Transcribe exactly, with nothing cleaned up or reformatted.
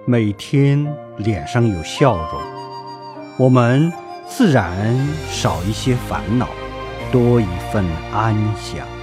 每天脸上有笑容，我们自然少一些烦恼，多一份安详。